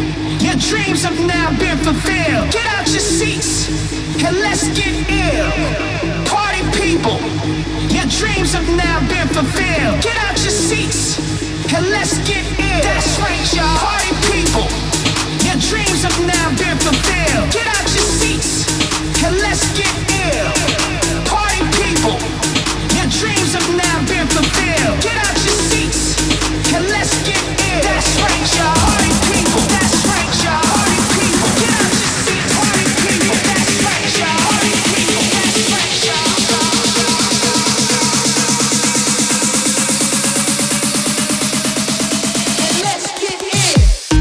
Your dreams have now been fulfilled. Get out your seats and let's get ill. Party people, your dreams have now been fulfilled. Get out your seats and let's get ill. That's right, y'all. Party people, your dreams have now been fulfilled. Get out your seats and let's get ill. Party people, your dreams have now been fulfilled. Get out your seats and let's get ill. That's right, y'all. Party people, that's right, y'all. Party people, get out your seats. Party people, that's right, y'all. Party people, that's right, y'all. And let's get ill.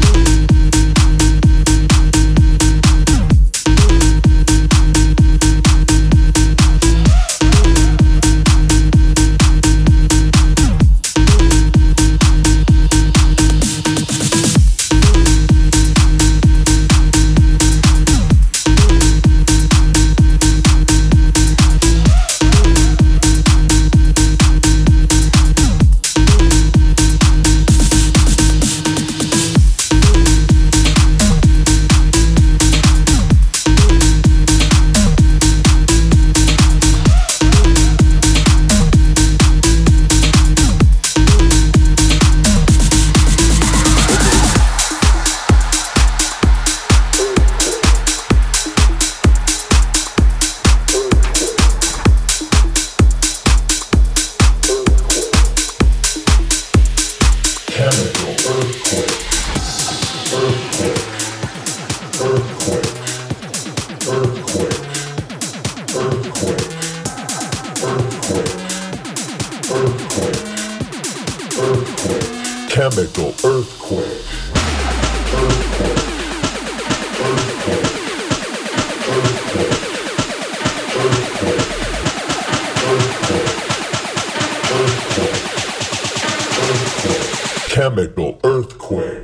Chemical earthquake. Chemical earthquake.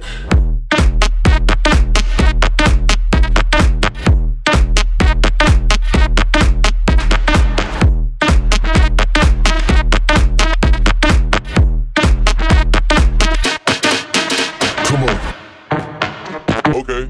Come on. Okay.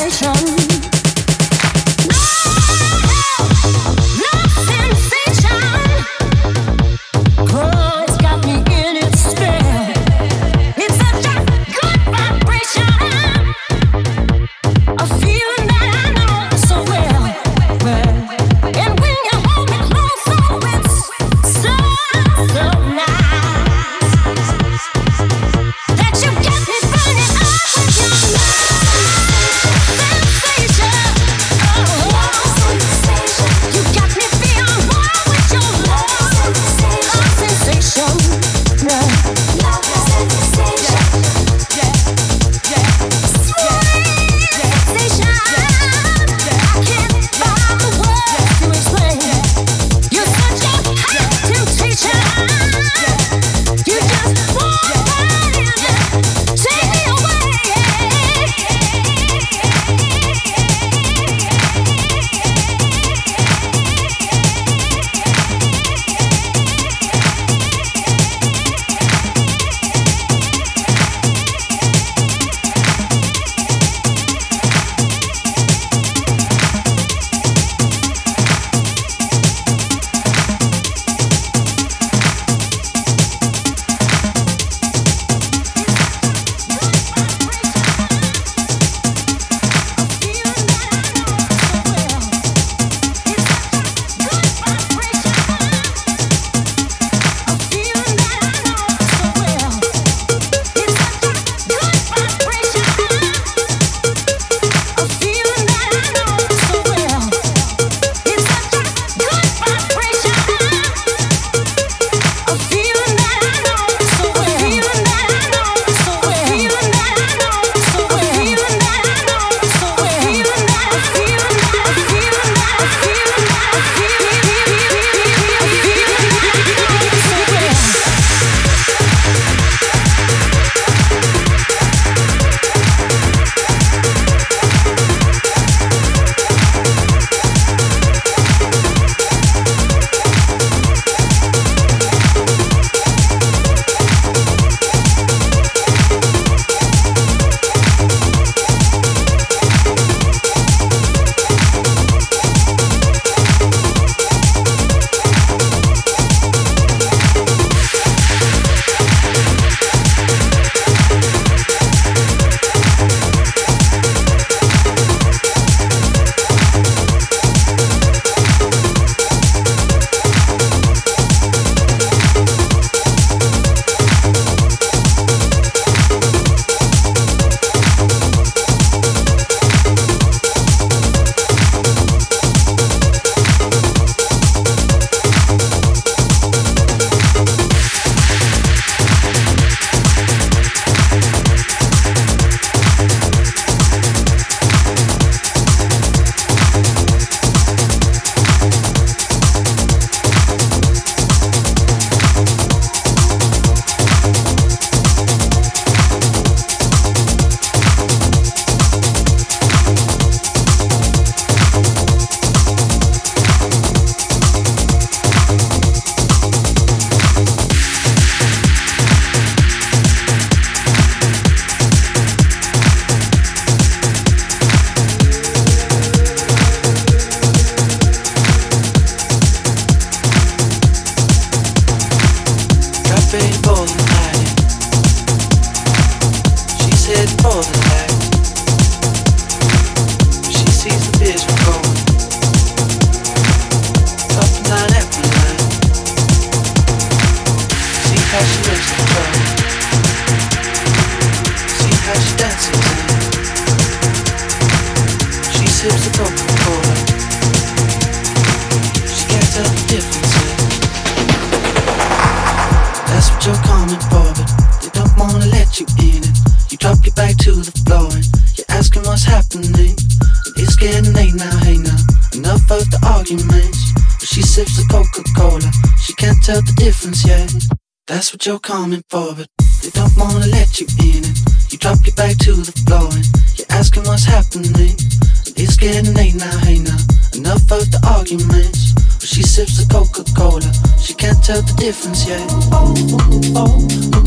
That's what you're coming for, but they don't wanna let you in it. You drop your back to the floor and you're asking what's happening. It's getting late now, hey now, enough of the arguments. But she sips the Coca-Cola, she can't tell the difference yet.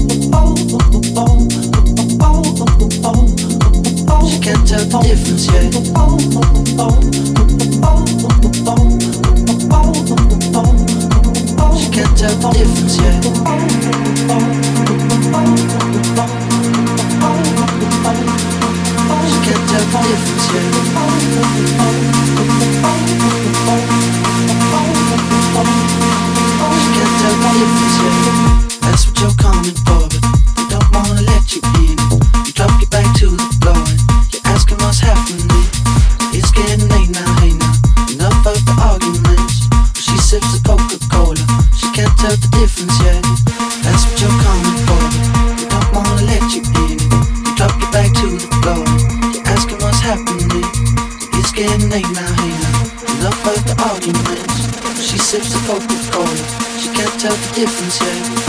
She can't tell the difference yet. tell the difference yet.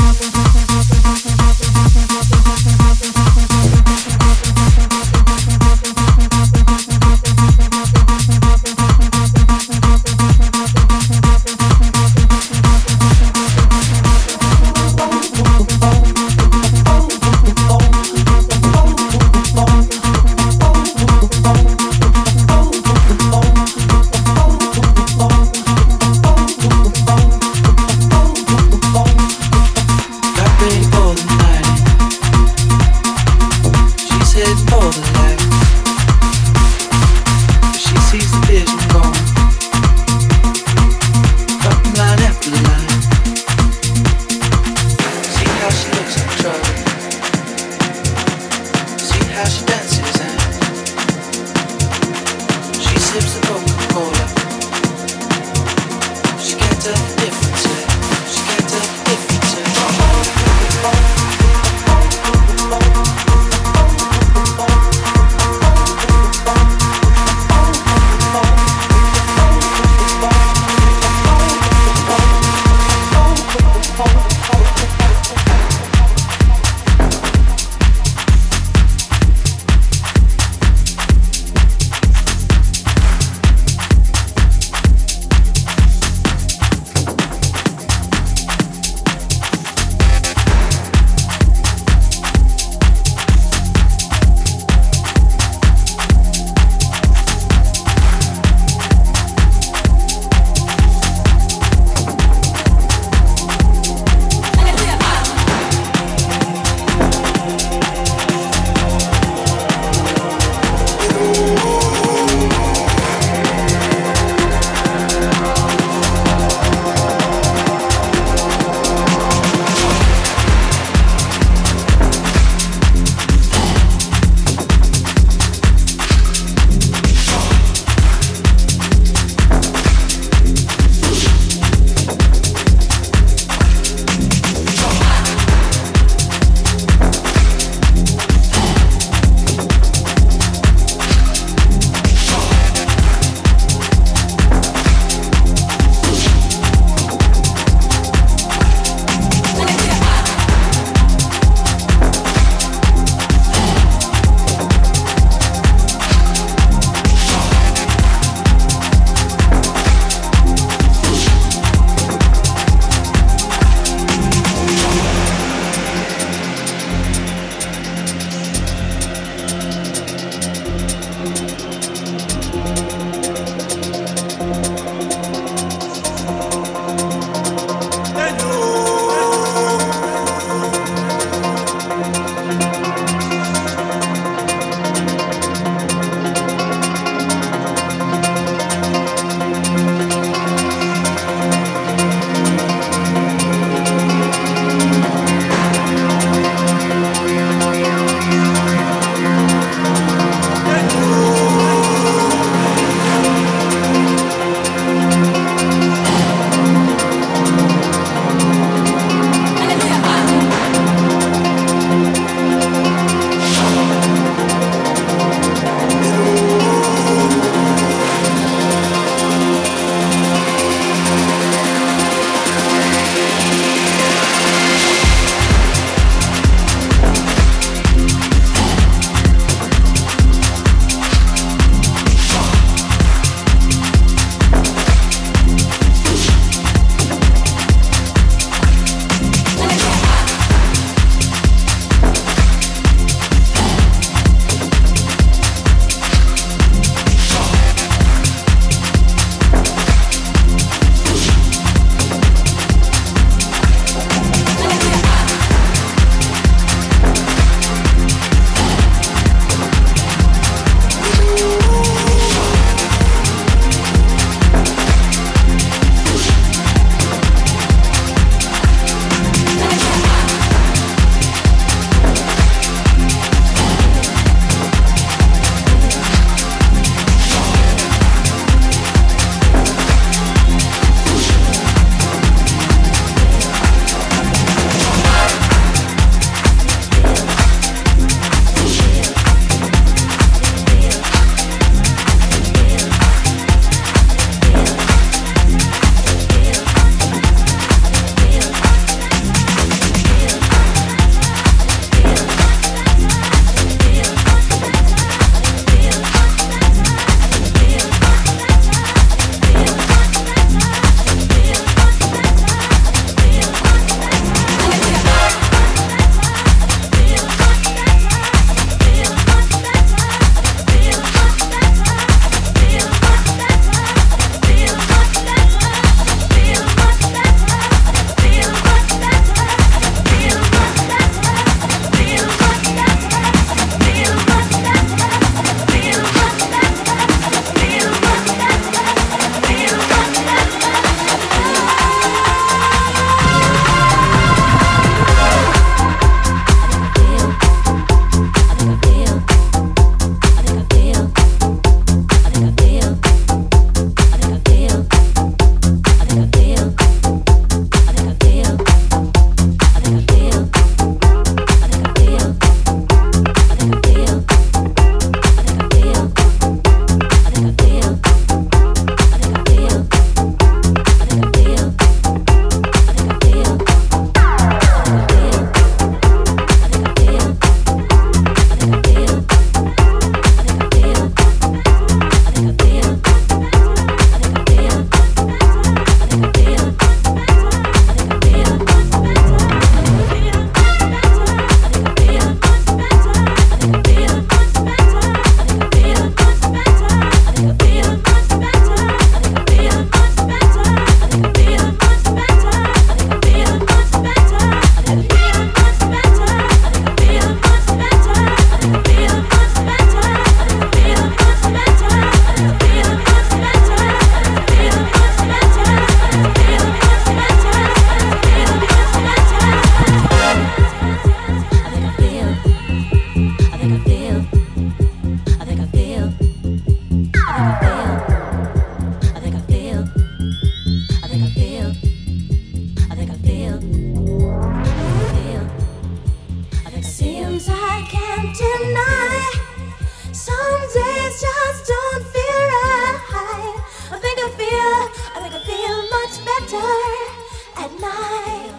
can't deny. Some days just don't feel right. I think I feel much better at night.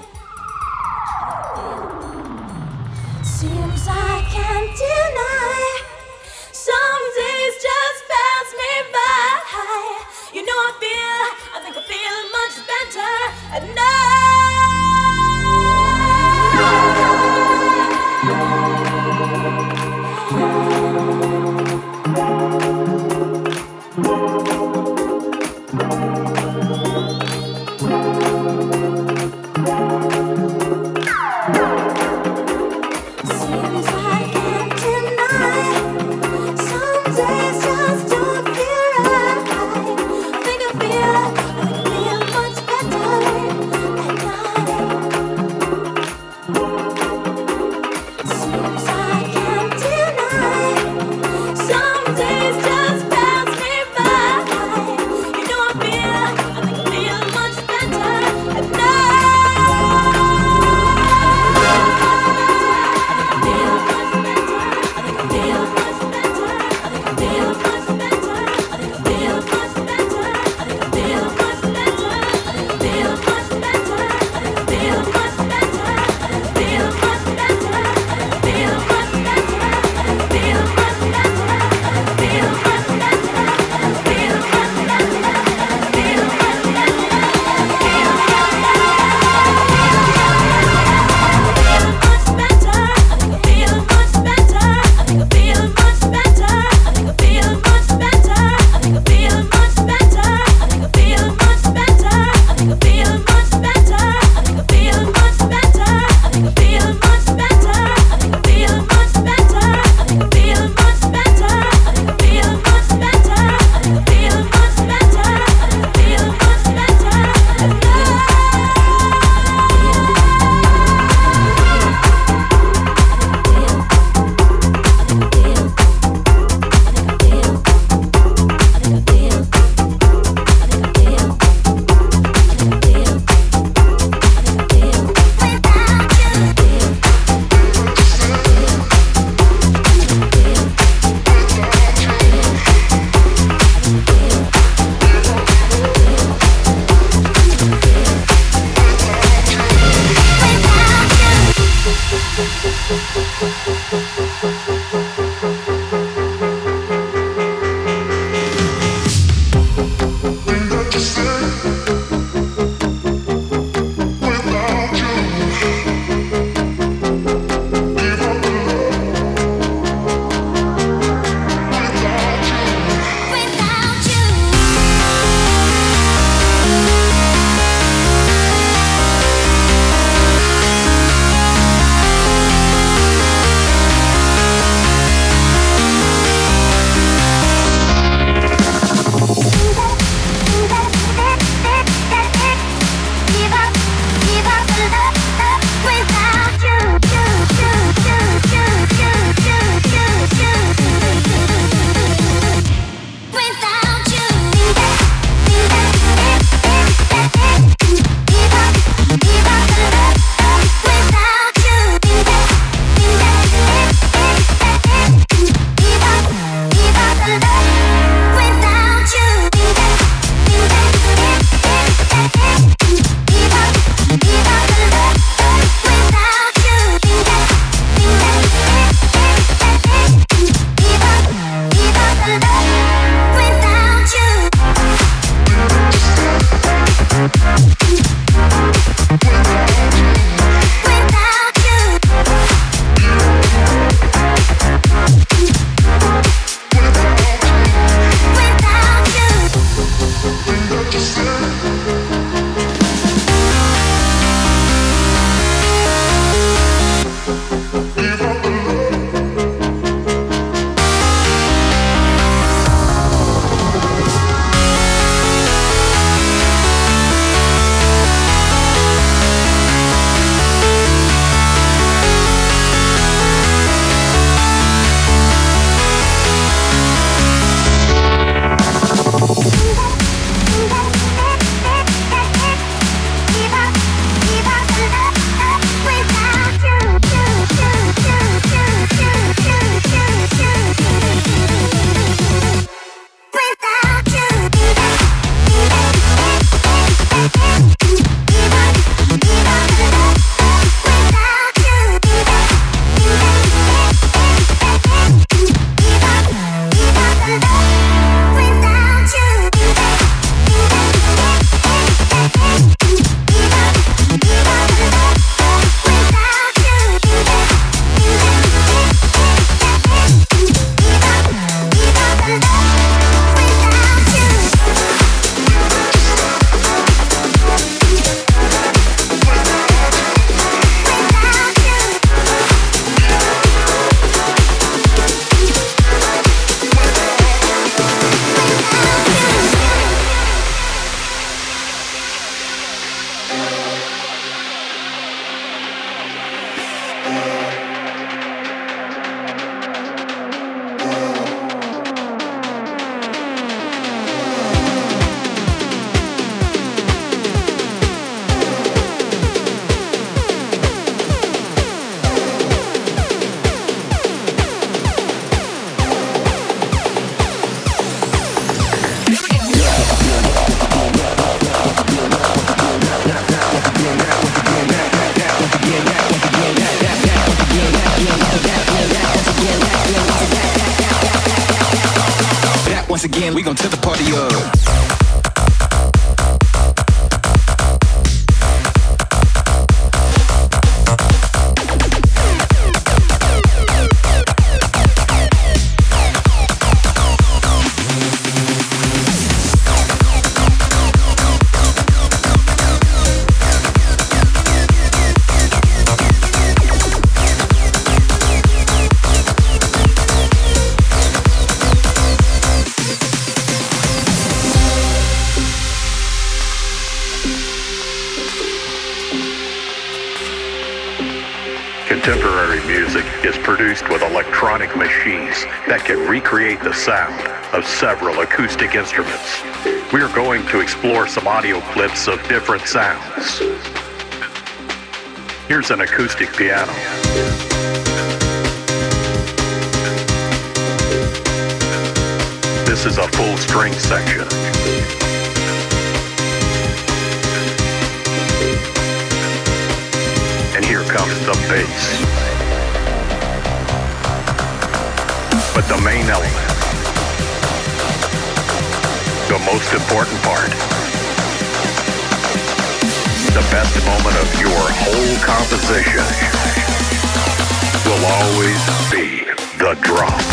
Seems I can't deny. Some days just pass me by. You know I think I feel much better at night. Seems I can't deny. Some days just don't feel right. I think I feel much better at night. Seems I can't deny. Some days just pass me by. You know I think I feel much better at night. Once again, we gon' tip the party up. Contemporary music is produced with electronic machines that can recreate the sound of several acoustic instruments. We are going to explore some audio clips of different sounds. Here's an acoustic piano. This is a full string section. And here comes the bass. But the main element, the most important part, the best moment of your whole composition will always be the drop.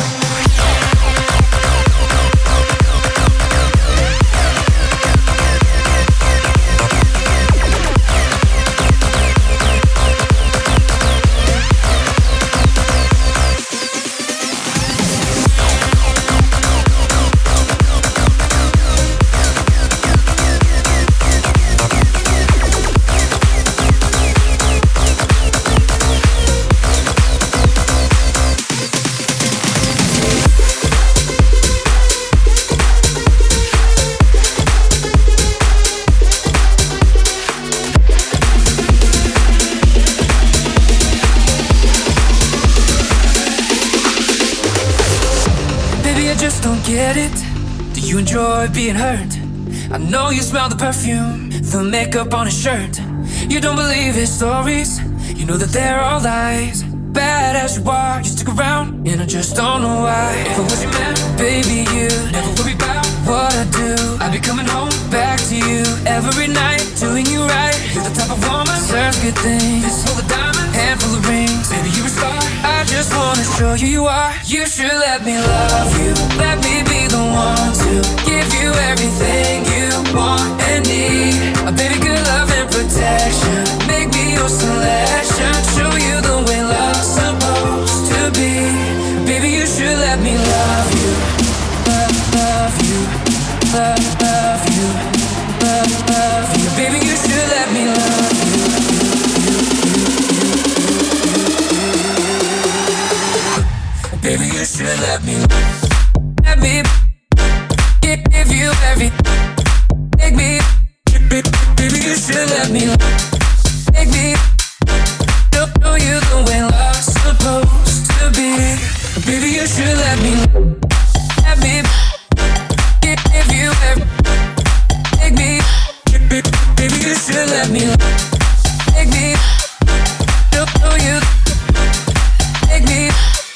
Get it? Do you enjoy being hurt? I know you smell the perfume, the makeup on his shirt. You don't believe his stories, you know that they're all lies. Bad as you are, you stick around, and I just don't know why. If I was your man, baby, you never worry about what I do. I'd be coming home back to you every night, doing you right. You're the type of woman, serves good things. This full of diamonds, handful of rings. Baby, you're a star, I just wanna show you you are. You should let me love you, let me be the one to give you everything you want and need. A baby, good love and protection, make me your selection. Show you the way love's supposed to be. Baby, you should let me love you, love you, love you, love you. Baby, you should let me love you. Baby, you should let me give you every. Make me, baby, you should let me make me show you the way love's supposed to be. Baby, you should let me give you every. Make me, baby, you should let me make me show you. Make me.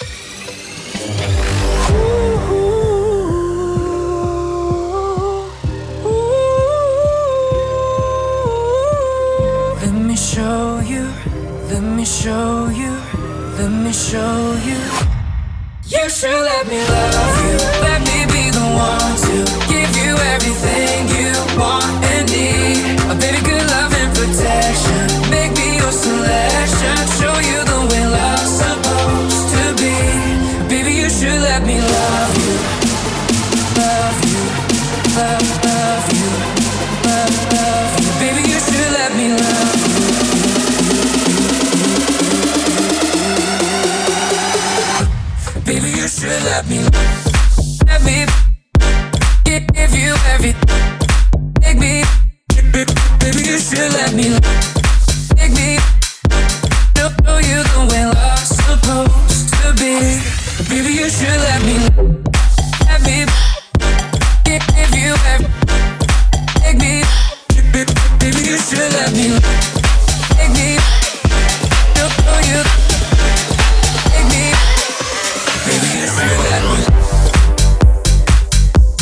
Show you, let me show you. You should let me love you, let me be the one to give you everything you want and need. A baby, good love and protection, make me your selection. Show you the way love's supposed to be. Baby, you should let me love you, love you, love you, love you. Baby, you should let me love you. Baby, you should let me give you every. Make me, baby, you should let me make me show you the way love's supposed to be. Baby, you should let me give you every. Make me, baby, you should let me make me show you. Make me. Baby, you should let me.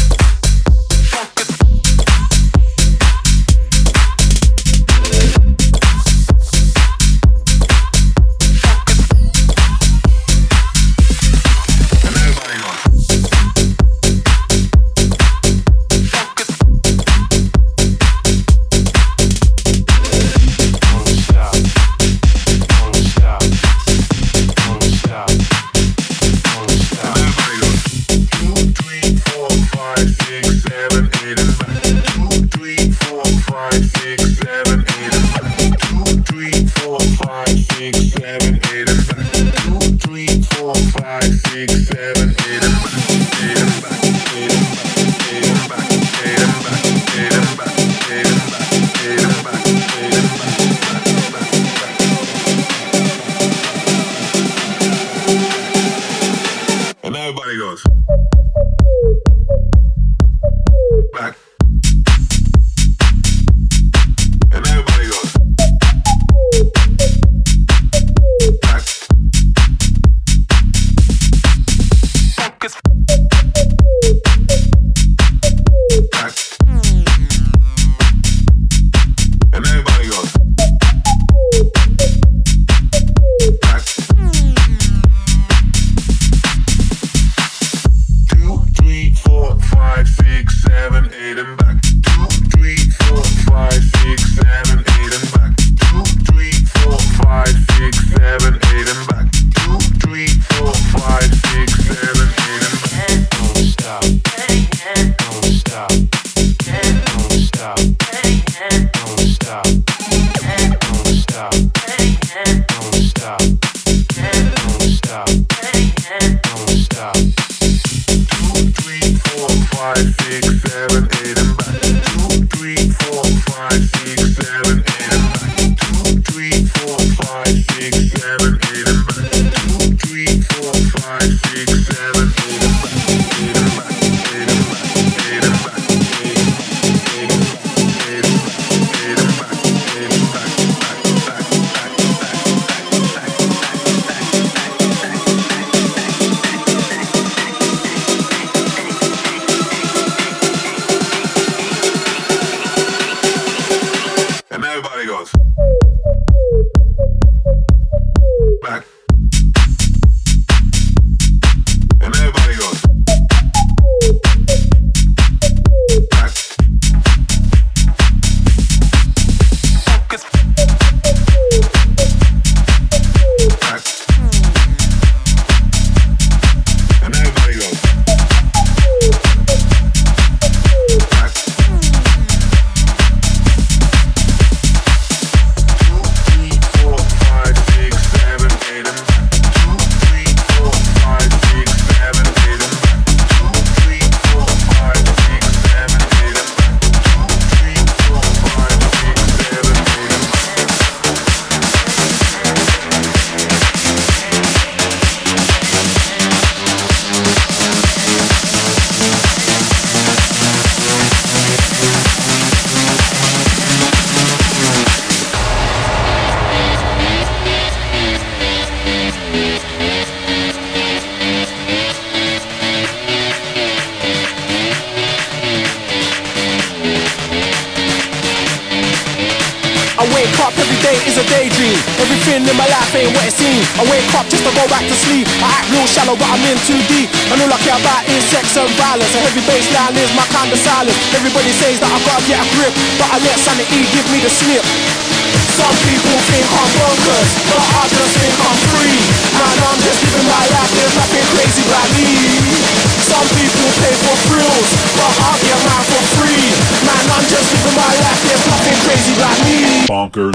Everything in my life ain't what it seems. I wake up just to go back to sleep. I act real shallow but I'm in too deep. And all I care about is sex and violence. A heavy bassline is my kind of silence. Everybody says that I've gotta get a grip, but I let sanity give me the slip. Some people think I'm bonkers, but I just think I'm free. Man, I'm just living my life, there's nothing crazy about me. Some people pay for thrills, but I'll get mine for free. Man, I'm just living my life, there's nothing crazy about me. Bonkers.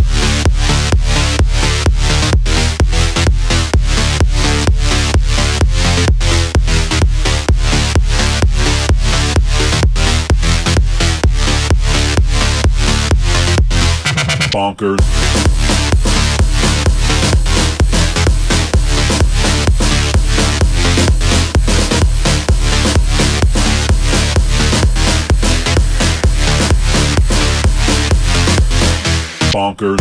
Bonkers. Bonkers.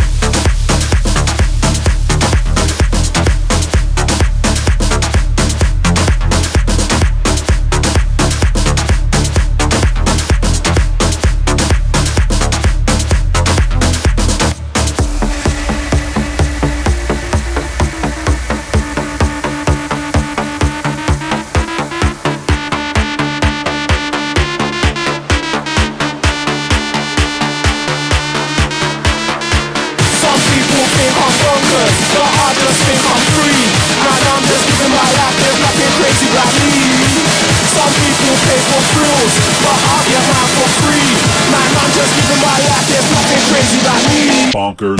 Bonkers.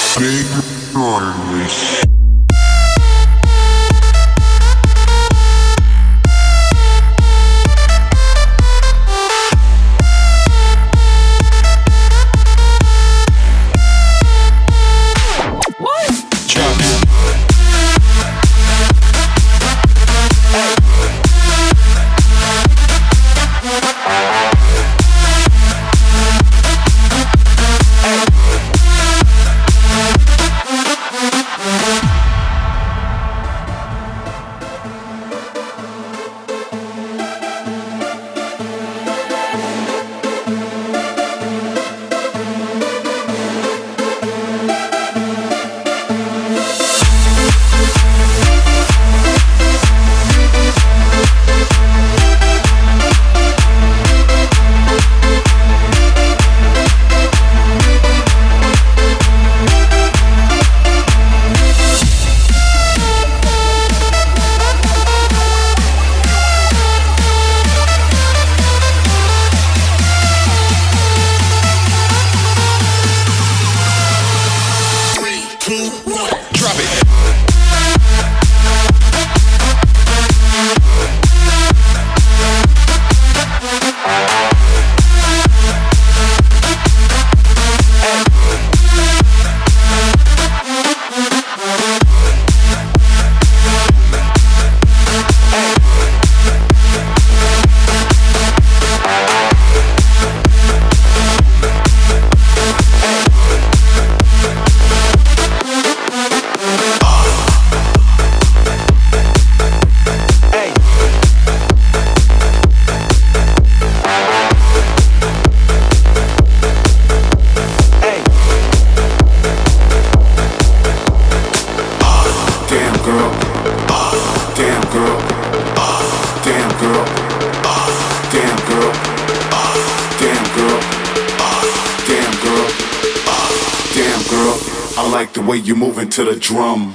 like the way you moving to the drum.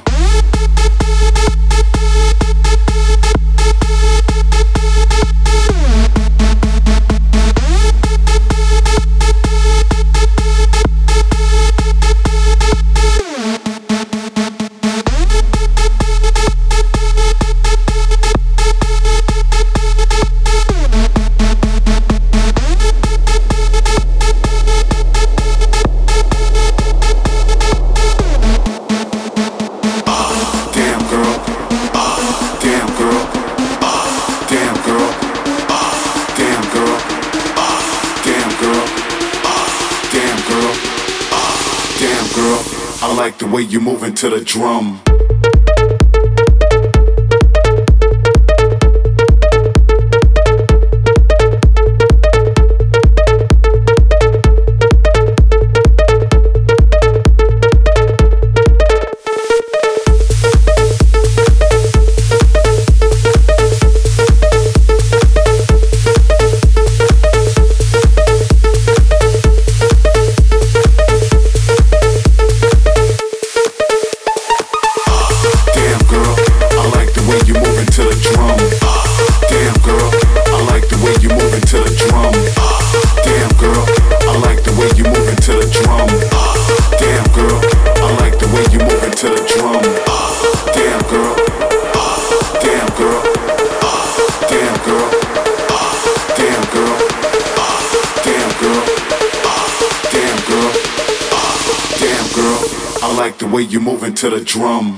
I like the way you moving to the drum. I like the way you moving to the drum.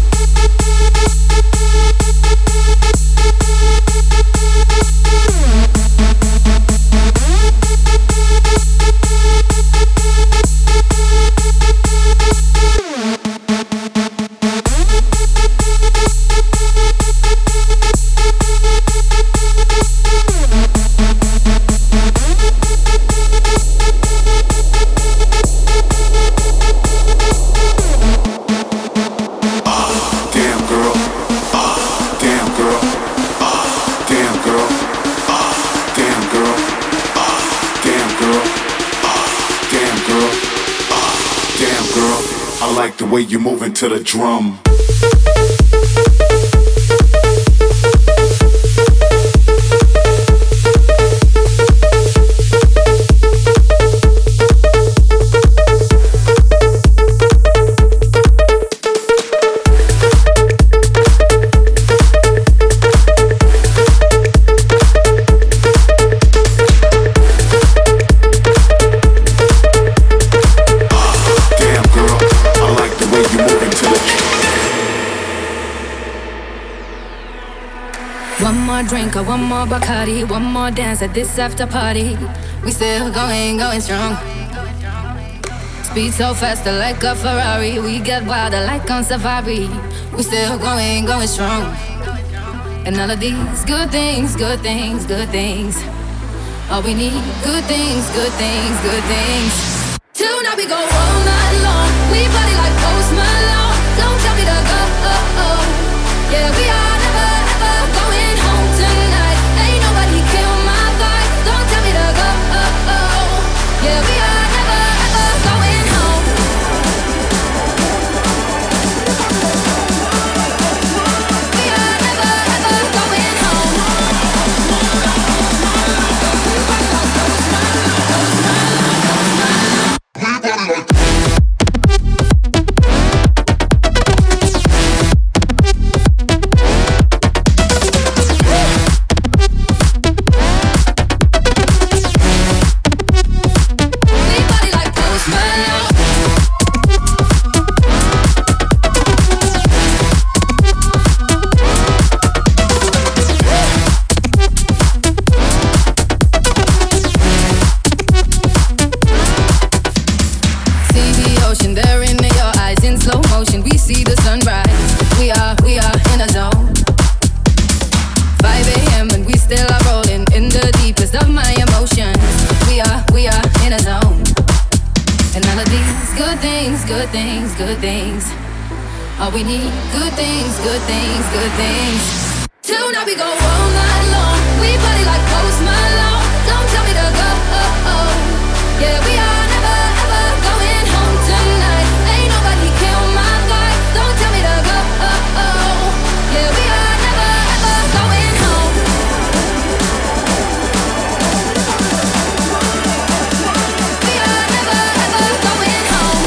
I like the way you moving to the drum. more drink or one more Bacardi, one more dance at this after party. We still going strong. Speed so faster like a Ferrari. We get wilder like on safari. We still going strong. And all of these good things, good things, good things. All we need, good things, good things, good things. Tonight we go all night long. We party like Post Malone. Don't tell me to go. Yeah, we are never ever going home tonight. Ain't nobody kill my vibe. Don't tell me to go. Yeah, we are never ever going home. We are never ever going home. Good things. All we need, good things, good things, good things. Tonight we go all night long. We party like Post Malone. Don't tell me to go. Yeah, we are never ever going home tonight. Ain't nobody kill my vibe. Don't tell me to go. Yeah, we are never ever going home. We are never ever going home.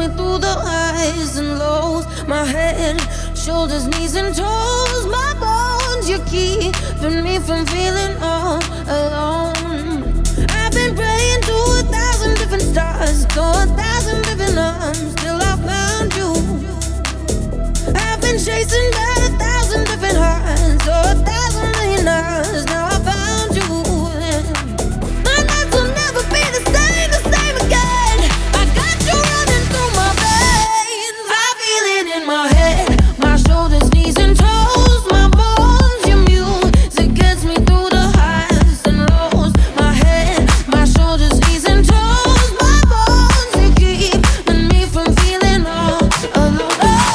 me through the highs and lows. My head, shoulders, knees and toes. My bones, you keeping me from feeling all alone. I've been praying to 1,000 different stars, to 1,000 different arms, till I found you. I've been chasing by 1,000 different hearts, so 1,000 million hours. Now I found you. My nights will never be the same again. I got you running through my veins. I feel it in my head, my shoulders, knees and toes. My bones, your music gets me through the highs and lows. My head, my shoulders, knees and toes. My bones, you keeping me from feeling all alone.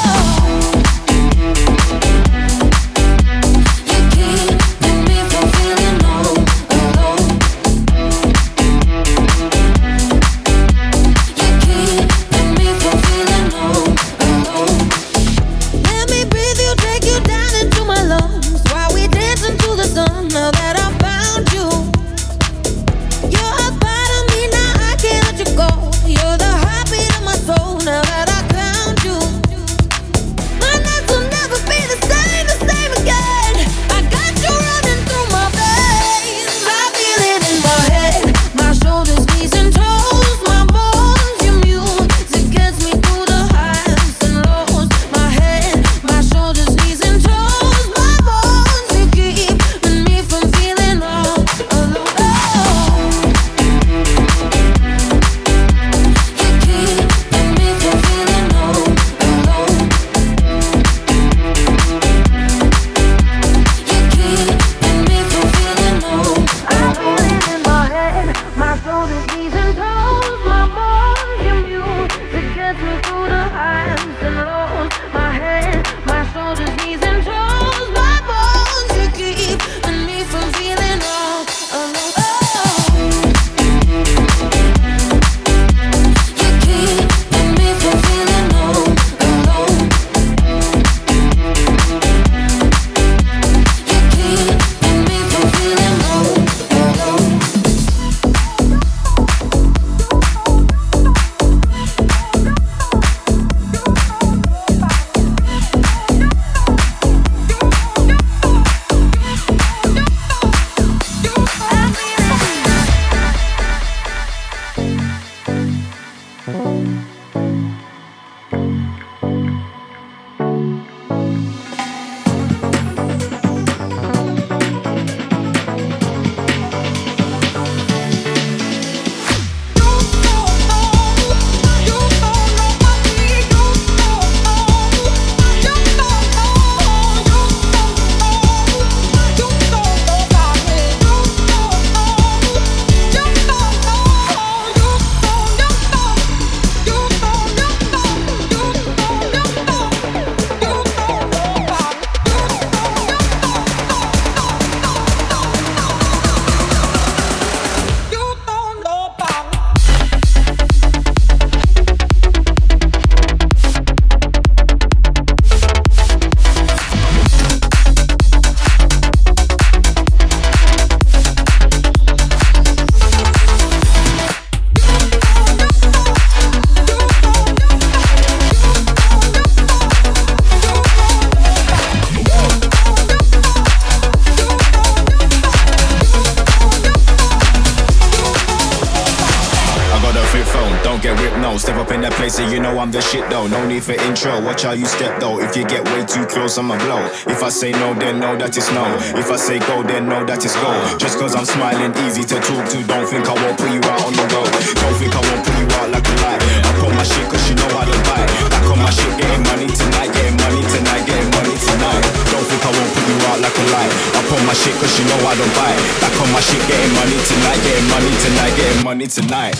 For intro, watch how you step though. If you get way too close, I'ma blow. If I say no, then know that it's no. If I say go, then know that it's go. Just cause I'm smiling, easy to talk to. Don't think I won't put you out on the road. Don't think I won't put you out like a lie. I put my shit cause you know I don't buy. Back on my shit, getting money tonight, getting money tonight, getting money tonight. Don't think I won't put you out like a lie. I put my shit cause you know I don't buy. Back on my shit, getting money tonight, getting money tonight, getting money tonight.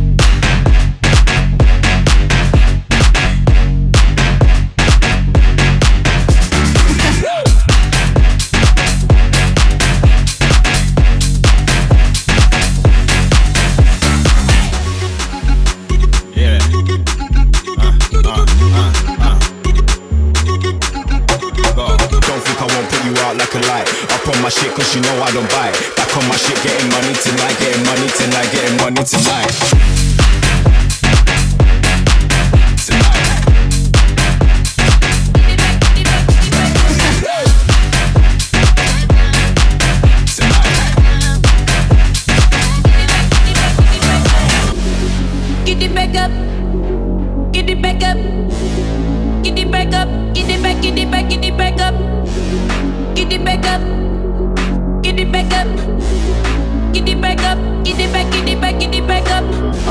My shit cause you know I don't buy. Back on my shit, getting money tonight, getting money tonight, getting money tonight.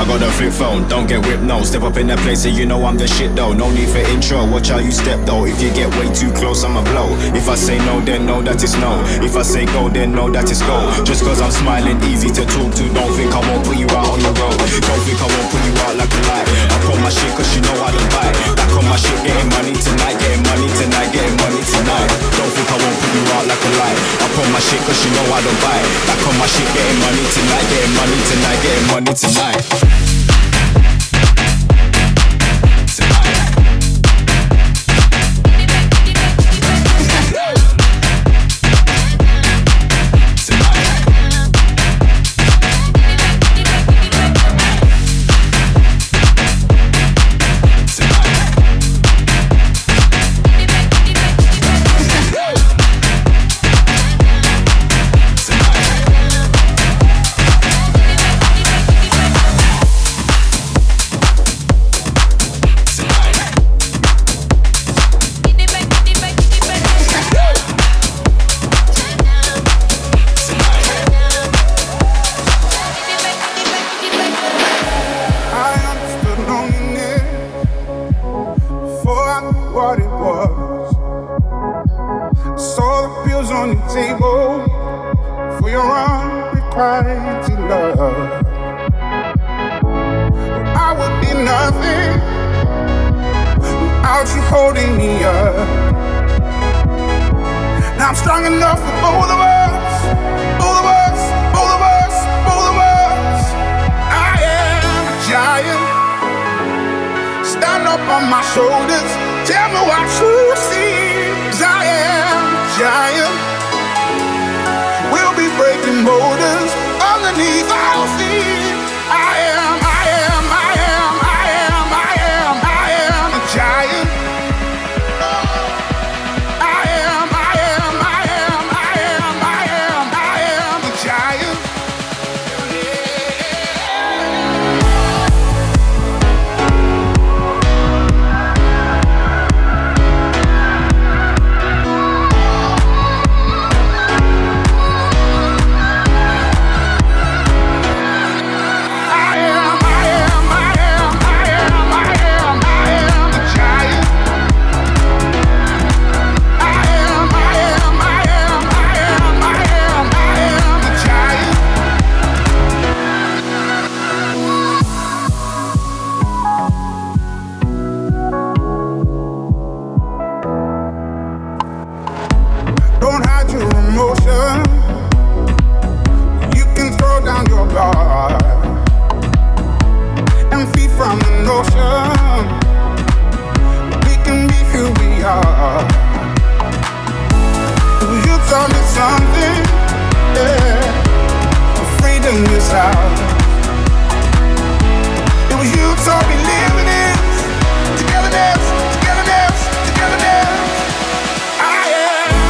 got a flip phone, don't get whipped, no. Step up in the place and you know I'm the shit though. No need for intro, watch how you step though. If you get way too close, I'ma blow. If I say no, then know that it's no. If I say go, then know that it's go. Just cause I'm smiling, easy to talk to. Don't think I won't put you out on the road. Don't think I won't put you out like a light. I put my shit cause you know I don't buy. Back on my shit, getting money tonight. Getting money tonight, getting money tonight. Don't think I won't put you out like a light. I put my shit cause you know I don't buy. Back on my shit, getting money tonight. Getting money tonight, getting money tonight.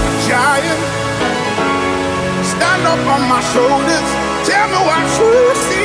Shoulders, tell me what you see.